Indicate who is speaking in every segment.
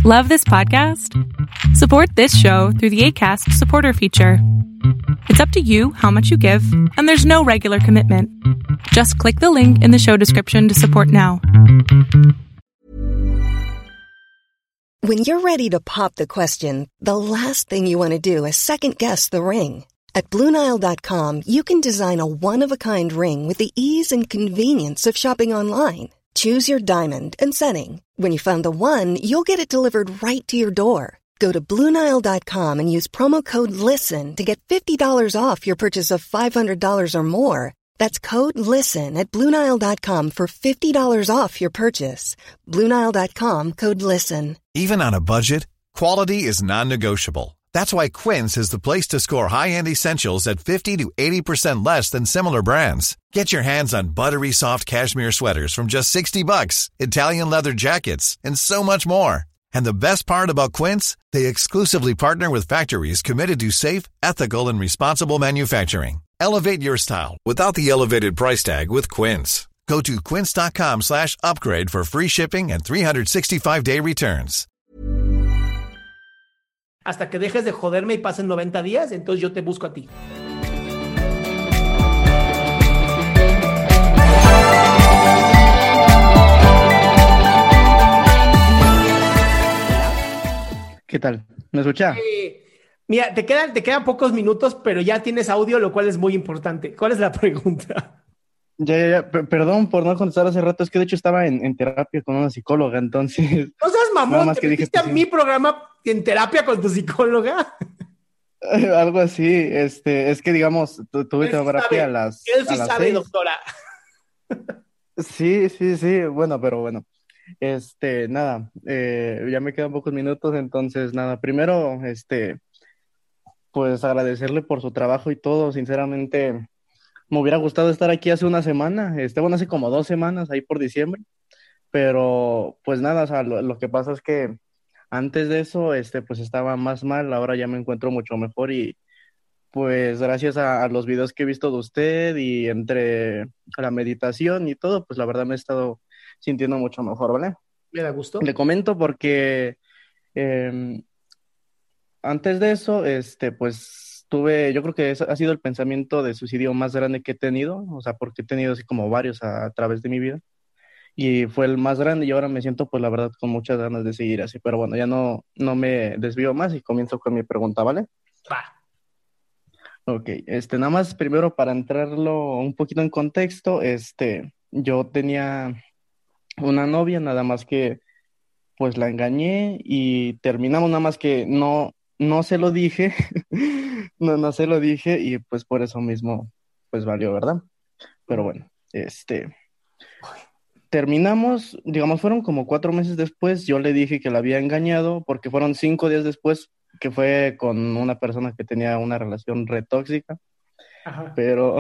Speaker 1: Love this podcast? Support this show through the Acast supporter feature. It's up to you how much you give, and there's no regular commitment. Just click the link in the show description to support now.
Speaker 2: When you're ready to pop the question, the last thing you want to do is second-guess the ring. At BlueNile.com, you can design a one-of-a-kind ring with the ease and convenience of shopping online. Choose your diamond and setting. When you find the one, you'll get it delivered right to your door. Go to BlueNile.com and use promo code LISTEN to get $50 off your purchase of $500 or more. That's code LISTEN at BlueNile.com for $50 off your purchase. BlueNile.com, code LISTEN.
Speaker 3: Even on a budget, quality is non-negotiable. That's why Quince is the place to score high-end essentials at 50 to 80% less than similar brands. Get your hands on buttery soft cashmere sweaters from just $60, Italian leather jackets, and so much more. And the best part about Quince, they exclusively partner with factories committed to safe, ethical, and responsible manufacturing. Elevate your style without the elevated price tag with Quince. Go to quince.com/upgrade for free shipping and 365-day returns.
Speaker 4: Hasta que dejes de joderme y pasen 90 días, entonces yo te busco a ti.
Speaker 5: ¿Qué tal? ¿Me escucha?
Speaker 4: Mira, te quedan pocos minutos, pero ya tienes audio, lo cual es muy importante. ¿Cuál es la pregunta?
Speaker 5: Perdón por no contestar hace rato, es que de hecho estaba en terapia con una psicóloga, entonces...
Speaker 4: No seas mamón,
Speaker 5: más
Speaker 4: ¿te
Speaker 5: que
Speaker 4: metiste a mi programa en terapia con tu psicóloga?
Speaker 5: Algo así, es que digamos, tuve terapia a las
Speaker 4: Él sí sabe,
Speaker 5: 6.
Speaker 4: doctora.
Speaker 5: Sí, bueno, pero bueno. Nada, ya me quedan pocos minutos, entonces nada, primero, pues agradecerle por su trabajo y todo, sinceramente... Me hubiera gustado estar aquí hace una semana, bueno, hace como 2 semanas, ahí por diciembre, pero pues nada, o sea, lo que pasa es que antes de eso, pues estaba más mal, ahora ya me encuentro mucho mejor y pues gracias a los videos que he visto de usted y entre la meditación y todo, pues la verdad me he estado sintiendo mucho mejor, ¿vale?
Speaker 4: ¿Me da gusto?
Speaker 5: Le comento porque antes de eso, pues yo creo que ha sido el pensamiento de suicidio más grande que he tenido, o sea, porque he tenido así como varios a través de mi vida, y fue el más grande y ahora me siento, pues la verdad, con muchas ganas de seguir así, pero bueno, ya no me desvío más y comienzo con mi pregunta, ¿vale?
Speaker 4: Va.
Speaker 5: Ok, nada más primero para entrarlo un poquito en contexto, yo tenía una novia, nada más que, pues la engañé y terminamos, nada más que no se lo dije, no se lo dije y pues por eso mismo pues valió, ¿verdad? Pero bueno, terminamos, digamos, fueron como 4 meses después, yo le dije que la había engañado porque fueron 5 días después que fue con una persona que tenía una relación re tóxica,
Speaker 4: Ajá.
Speaker 5: pero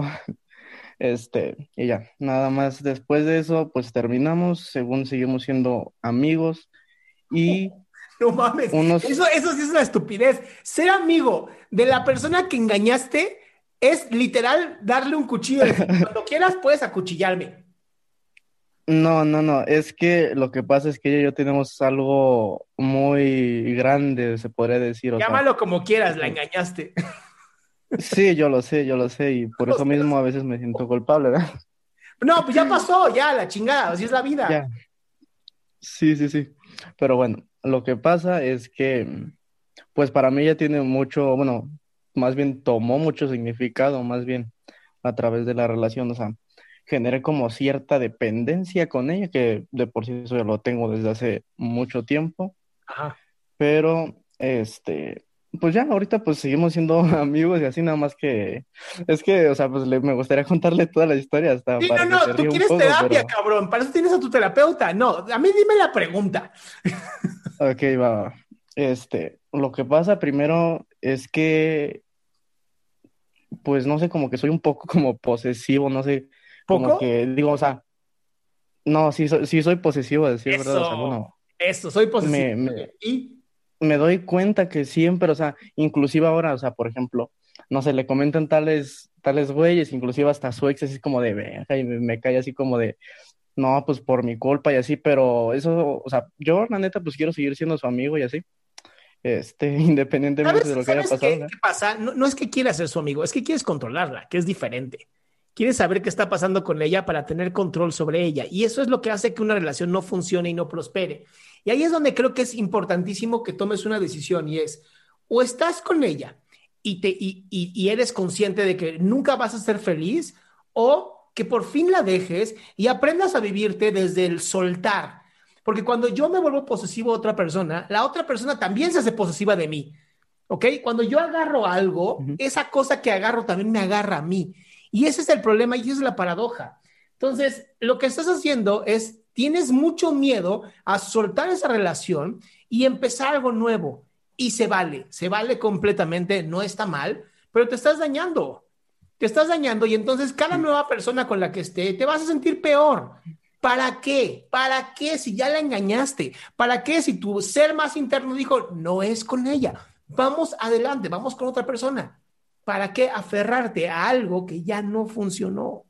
Speaker 5: y ya, nada más después de eso pues terminamos, según seguimos siendo amigos y...
Speaker 4: No mames, eso sí es una estupidez. Ser amigo de la persona que engañaste es literal darle un cuchillo. Cuando quieras puedes acuchillarme.
Speaker 5: No, es que lo que pasa es que ella y yo tenemos algo muy grande, se podría decir, o sea,
Speaker 4: Llámalo como quieras, la engañaste.
Speaker 5: sí, yo lo sé, y por eso mismo a veces me siento culpable, ¿verdad?
Speaker 4: No, pues ya pasó, ya, la chingada, así es la vida.
Speaker 5: Ya, sí, pero bueno, lo que pasa es que, pues para mí ella tiene mucho, bueno, más bien tomó mucho significado, más bien a través de la relación, o sea, generé como cierta dependencia con ella, que de por sí eso ya lo tengo desde hace mucho tiempo,
Speaker 4: Ajá.
Speaker 5: pero pues ya ahorita pues seguimos siendo amigos y así nada más que, es que, o sea, pues me gustaría contarle toda la historia hasta
Speaker 4: Sí,
Speaker 5: para que se
Speaker 4: tú
Speaker 5: ría un
Speaker 4: quieres
Speaker 5: poco,
Speaker 4: terapia,
Speaker 5: pero,
Speaker 4: cabrón, para eso tienes a tu terapeuta. No, a mí dime la pregunta.
Speaker 5: ok, va. Lo que pasa primero es que, pues no sé, como que soy un poco como posesivo, no sé, como
Speaker 4: ¿Poco?
Speaker 5: que digo, o sea, no, sí soy posesivo, a decir verdad, o sea, bueno,
Speaker 4: Eso, soy posesivo.
Speaker 5: me, me,
Speaker 4: Y
Speaker 5: me doy cuenta que siempre, o sea, inclusive ahora, o sea, por ejemplo, no sé, le comentan tales güeyes, inclusive hasta su ex, así como de, "Verga", y me cae así como de, no, pues por mi culpa y así, pero eso, o sea, yo la neta pues quiero seguir siendo su amigo y así, independientemente de lo que haya
Speaker 4: ¿Sabes
Speaker 5: pasado,
Speaker 4: qué,
Speaker 5: ¿verdad?
Speaker 4: qué pasa? No, no es que quieras ser su amigo, es que quieres controlarla, que es diferente. Quieres saber qué está pasando con ella para tener control sobre ella. Y eso es lo que hace que una relación no funcione y no prospere. Y ahí es donde creo que es importantísimo que tomes una decisión y es, o estás con ella y eres consciente de que nunca vas a ser feliz, o que por fin la dejes y aprendas a vivirte desde el soltar. Porque cuando yo me vuelvo posesivo a otra persona, la otra persona también se hace posesiva de mí. ¿Ok? Cuando yo agarro algo,
Speaker 5: Ujú.
Speaker 4: esa cosa que agarro también me agarra a mí. Y ese es el problema y esa es la paradoja. Entonces, lo que estás haciendo es, tienes mucho miedo a soltar esa relación y empezar algo nuevo. Y se vale completamente, no está mal, pero te estás dañando. Te estás dañando y entonces cada
Speaker 5: Sí.
Speaker 4: nueva persona con la que esté te vas a sentir peor. ¿Para qué? ¿Para qué si ya la engañaste? ¿Para qué si tu ser más interno dijo, no es con ella? Vamos adelante, vamos con otra persona. ¿Para qué aferrarte a algo que ya no funcionó?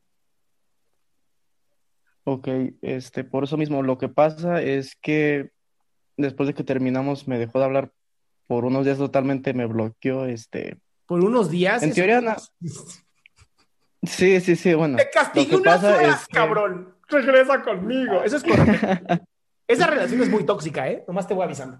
Speaker 5: Ok, por eso mismo, lo que pasa es que después de que terminamos me dejó de hablar por unos días totalmente, me bloqueó,
Speaker 4: Por unos días,
Speaker 5: en
Speaker 4: eso.
Speaker 5: teoría, sí, sí, sí,
Speaker 4: Te
Speaker 5: bueno, lo
Speaker 4: castigué
Speaker 5: que
Speaker 4: unas
Speaker 5: pasa
Speaker 4: horas,
Speaker 5: es que,
Speaker 4: cabrón. Regresa conmigo. Eso es correcto. Esa relación es muy tóxica, ¿eh? Nomás te voy avisando.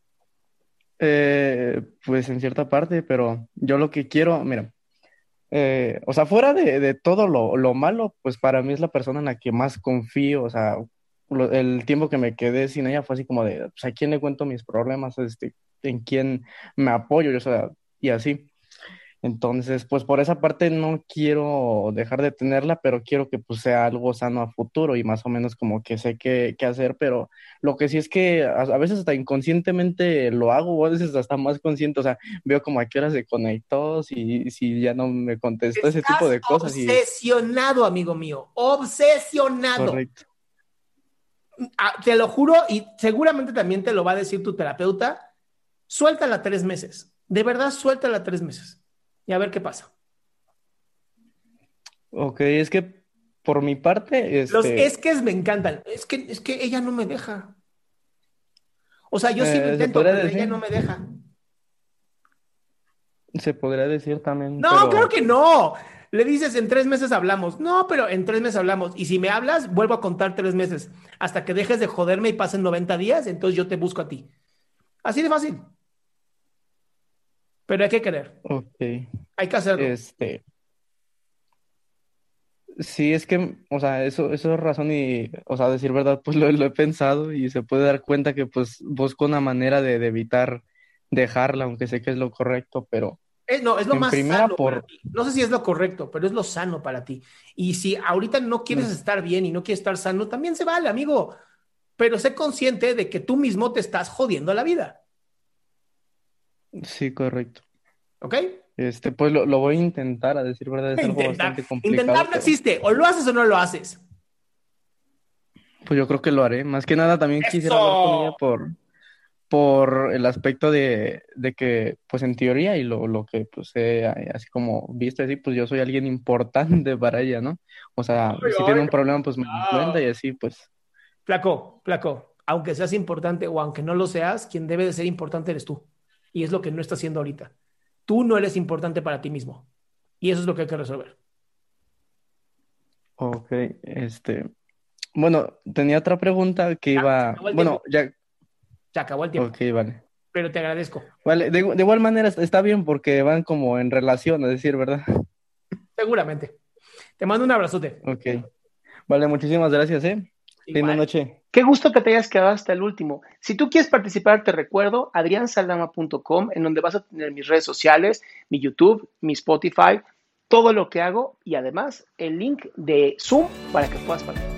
Speaker 5: pues en cierta parte, pero yo lo que quiero, mira, o sea, fuera de todo lo malo, pues para mí es la persona en la que más confío, o sea, el tiempo que me quedé sin ella fue así como de, pues, ¿a quién le cuento mis problemas? ¿En quién me apoyo? O sea, y así. Entonces, pues por esa parte no quiero dejar de tenerla, pero quiero que pues sea algo sano a futuro y más o menos como que sé qué hacer, pero lo que sí es que a veces hasta inconscientemente lo hago, o a veces hasta más consciente, o sea, veo como a qué hora se conectó, si ya no me contestó, ese tipo
Speaker 4: Estás
Speaker 5: de cosas y
Speaker 4: obsesionado, amigo mío. Obsesionado.
Speaker 5: correcto.
Speaker 4: Te lo juro y seguramente también te lo va a decir tu terapeuta. Suéltala 3 meses. De verdad, suéltala 3 meses. Y a ver qué pasa.
Speaker 5: Ok, es que por mi parte,
Speaker 4: Los es que me encantan. Es que ella no me deja. O sea, yo sí lo
Speaker 5: se
Speaker 4: intento,
Speaker 5: podría
Speaker 4: pero ella
Speaker 5: decir,
Speaker 4: no me deja.
Speaker 5: se podría decir también,
Speaker 4: No, claro
Speaker 5: pero
Speaker 4: que no. Le dices, en 3 meses hablamos. No, pero en 3 meses hablamos. Y si me hablas, vuelvo a contar 3 meses. Hasta que dejes de joderme y pasen 90 días, entonces yo te busco a ti. Así de fácil. Pero hay que querer.
Speaker 5: ok,
Speaker 4: Hay que hacerlo.
Speaker 5: este... Sí, es que, o sea, eso es razón y, o sea, decir verdad, pues lo he pensado y se puede dar cuenta que pues busco una manera de evitar dejarla, aunque sé que es lo correcto, pero
Speaker 4: No, es lo
Speaker 5: en
Speaker 4: más
Speaker 5: primera
Speaker 4: sano para
Speaker 5: por,
Speaker 4: ti. No sé si es lo correcto, pero es lo sano para ti. Y si ahorita no quieres
Speaker 5: es-
Speaker 4: estar bien y no quieres estar sano, también se vale, amigo. Pero sé consciente de que tú mismo te estás jodiendo la vida.
Speaker 5: sí, correcto.
Speaker 4: ¿Ok?
Speaker 5: Pues lo voy a intentar, a decir verdad, es algo
Speaker 4: Intentar.
Speaker 5: bastante complicado,
Speaker 4: Intentar no
Speaker 5: pero
Speaker 4: existe. O lo haces o no lo haces.
Speaker 5: pues yo creo que lo haré. Más que nada también quisiera hablar con ella
Speaker 4: Eso.
Speaker 5: por el aspecto de que, pues en teoría y lo que pues he así como visto así, pues yo soy alguien importante para ella, ¿no? O sea,
Speaker 4: Ay,
Speaker 5: si
Speaker 4: ay,
Speaker 5: tiene un problema, pues me lo cuenta y
Speaker 4: ah.
Speaker 5: así, pues,
Speaker 4: Flaco, flaco. Aunque seas importante o aunque no lo seas, quien debe de ser importante eres tú. Y es lo que no estás haciendo ahorita. Tú no eres importante para ti mismo. Y eso es lo que hay que resolver.
Speaker 5: ok, bueno, tenía otra pregunta que
Speaker 4: Ya, se
Speaker 5: iba,
Speaker 4: acabó el
Speaker 5: bueno,
Speaker 4: tiempo.
Speaker 5: ya,
Speaker 4: Se acabó el tiempo.
Speaker 5: ok, vale.
Speaker 4: Pero te agradezco.
Speaker 5: Vale, de igual manera está bien porque van como en relación, a decir, ¿verdad?
Speaker 4: Seguramente. Te mando un abrazote.
Speaker 5: Ok, vale, muchísimas gracias, ¿eh? Linda
Speaker 4: Igual.
Speaker 5: noche.
Speaker 4: Qué gusto que te hayas quedado hasta el último. Si tú quieres participar, te recuerdo adriansaldama.com, en donde vas a tener mis redes sociales, mi YouTube, mi Spotify, todo lo que hago y además el link de Zoom para que puedas participar.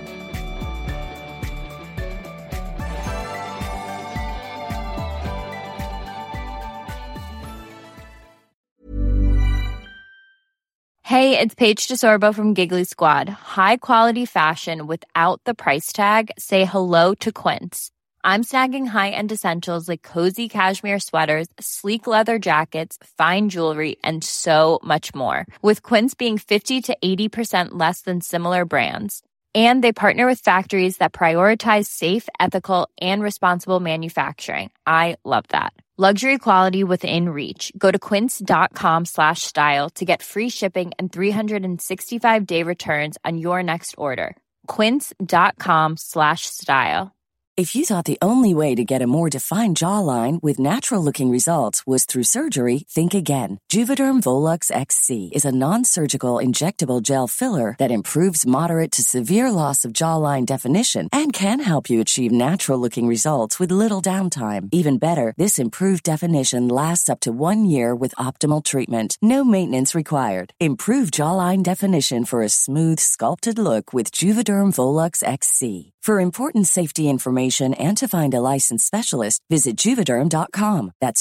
Speaker 6: Hey, it's Paige DeSorbo from Giggly Squad. High quality fashion without the price tag. Say hello to Quince. I'm snagging high-end essentials like cozy cashmere sweaters, sleek leather jackets, fine jewelry, and so much more. With Quince being 50 to 80% less than similar brands. And they partner with factories that prioritize safe, ethical, and responsible manufacturing. I love that. Luxury quality within reach. Go to quince.com/style to get free shipping and 365-day returns on your next order. Quince.com/style.
Speaker 7: If you thought the only way to get a more defined jawline with natural-looking results was through surgery, think again. Juvederm Volux XC is a non-surgical injectable gel filler that improves moderate to severe loss of jawline definition and can help you achieve natural-looking results with little downtime. Even better, this improved definition lasts up to 1 year with optimal treatment. No maintenance required. Improve jawline definition for a smooth, sculpted look with Juvederm Volux XC. For important safety information and to find a licensed specialist, visit Juvederm.com. That's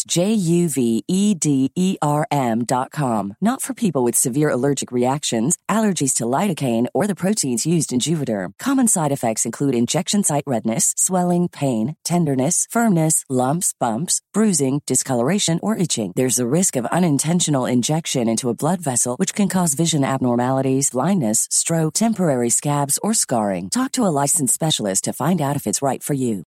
Speaker 7: JUVEDERM.com. Not for people with severe allergic reactions, allergies to lidocaine, or the proteins used in Juvederm. Common side effects include injection site redness, swelling, pain, tenderness, firmness, lumps, bumps, bruising, discoloration, or itching. There's a risk of unintentional injection into a blood vessel, which can cause vision abnormalities, blindness, stroke, temporary scabs, or scarring. Talk to a licensed specialist to find out if it's right for you.